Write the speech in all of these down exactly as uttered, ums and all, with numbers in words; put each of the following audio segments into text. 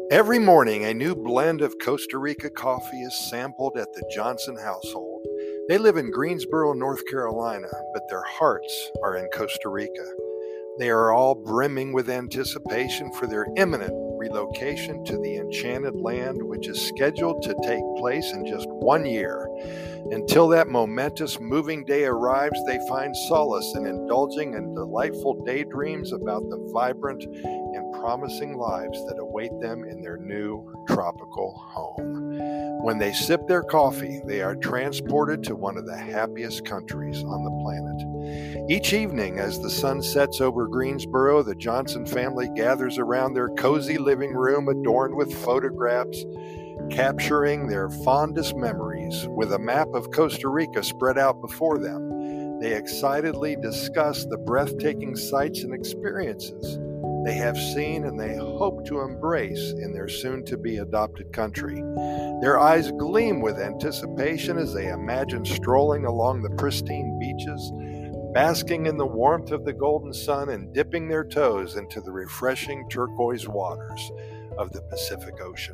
Every morning, a new blend of Costa Rica coffee is sampled at the Johnson household. They live in Greensboro, North Carolina, but their hearts are in Costa Rica. They are all brimming with anticipation for their imminent relocation to the enchanted land, which is scheduled to take place in just one year. Until that momentous moving day arrives, they find solace in indulging in delightful daydreams about the vibrant and promising lives that await them in their new tropical home. When they sip their coffee, they are transported to one of the happiest countries on the planet. Each evening, as the sun sets over Greensboro, the Johnson family gathers around their cozy living room adorned with photographs, capturing their fondest memories. With a map of Costa Rica spread out before them, they excitedly discuss the breathtaking sights and experiences they have seen and they hope to embrace in their soon-to-be adopted country. Their eyes gleam with anticipation as they imagine strolling along the pristine beaches, basking in the warmth of the golden sun and dipping their toes into the refreshing turquoise waters of the Pacific Ocean.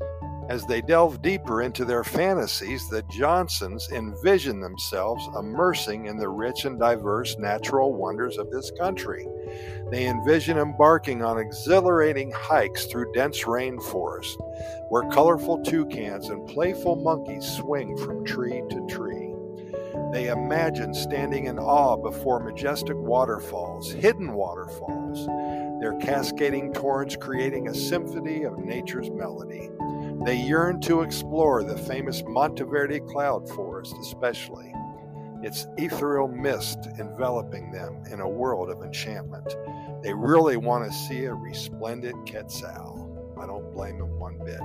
As they delve deeper into their fantasies, the Johnsons envision themselves immersing in the rich and diverse natural wonders of this country. They envision embarking on exhilarating hikes through dense rainforest, where colorful toucans and playful monkeys swing from tree to tree. They imagine standing in awe before majestic waterfalls, hidden waterfalls, their cascading torrents creating a symphony of nature's melody. They yearn to explore the famous Monteverde cloud forest especially, its ethereal mist enveloping them in a world of enchantment. They really want to see a resplendent quetzal. I don't blame them one bit.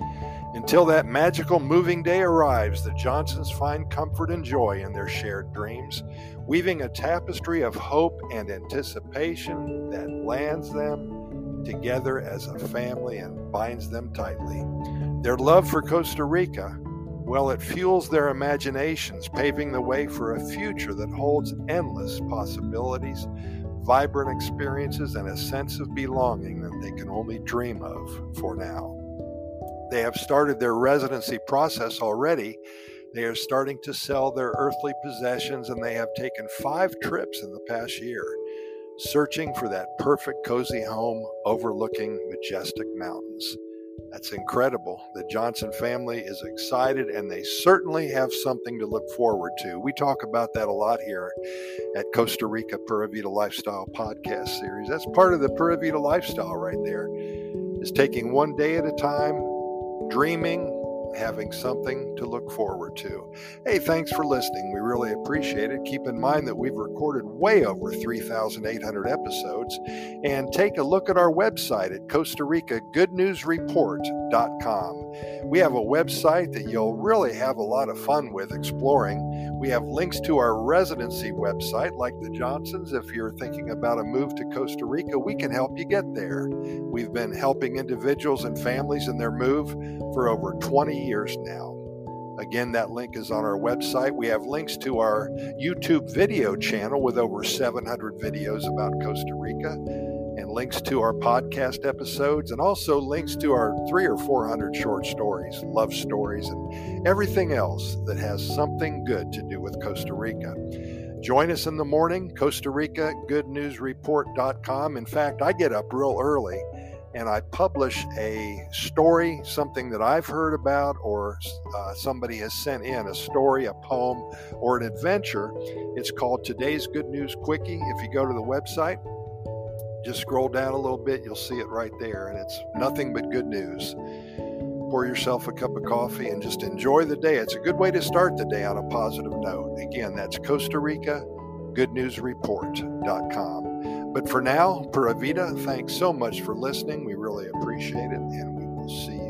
Until that magical moving day arrives, the Johnsons find comfort and joy in their shared dreams, weaving a tapestry of hope and anticipation that lands them together as a family and binds them tightly. Their love for Costa Rica, well, it fuels their imaginations, paving the way for a future that holds endless possibilities, vibrant experiences, and a sense of belonging that they can only dream of for now. They have started their residency process already. They are starting to sell their earthly possessions, and they have taken five trips in the past year, searching for that perfect cozy home overlooking majestic mountains. That's incredible. The Johnson family is excited, and they certainly have something to look forward to. We talk about that a lot here at Costa Rica Pura Vida Lifestyle podcast series. That's part of the Pura Vida lifestyle right there, is taking one day at a time, dreaming, having something to look forward to. Hey, thanks for listening. We really appreciate it. Keep in mind that we've recorded way over three thousand eight hundred episodes. And take a look at our website at Costa Rica Good News Report dot com. We have a website that you'll really have a lot of fun with exploring. We have links to our residency website, like the Johnsons. If you're thinking about a move to Costa Rica, we can help you get there. We've been helping individuals and families in their move for over twenty years now. Again, that link is on our website. We have links to our YouTube video channel with over seven hundred videos about Costa Rica, and links to our podcast episodes, and also links to our three or four hundred short stories, love stories, and everything else that has something good to do with Costa Rica. Join us in the morning, Costa Rica Good News Report dot com. In fact, I get up real early and I publish a story, something that I've heard about, or uh, somebody has sent in a story, a poem, or an adventure. It's called Today's Good News Quickie. If you go to the website, just scroll down a little bit, you'll see it right there, and it's nothing but good news. Pour yourself a cup of coffee and just enjoy the day. It's a good way to start the day on a positive note. Again, that's Costa Rica Good News Report dot com. But for now, Pura Vida, thanks so much for listening. We really appreciate it, and we will see you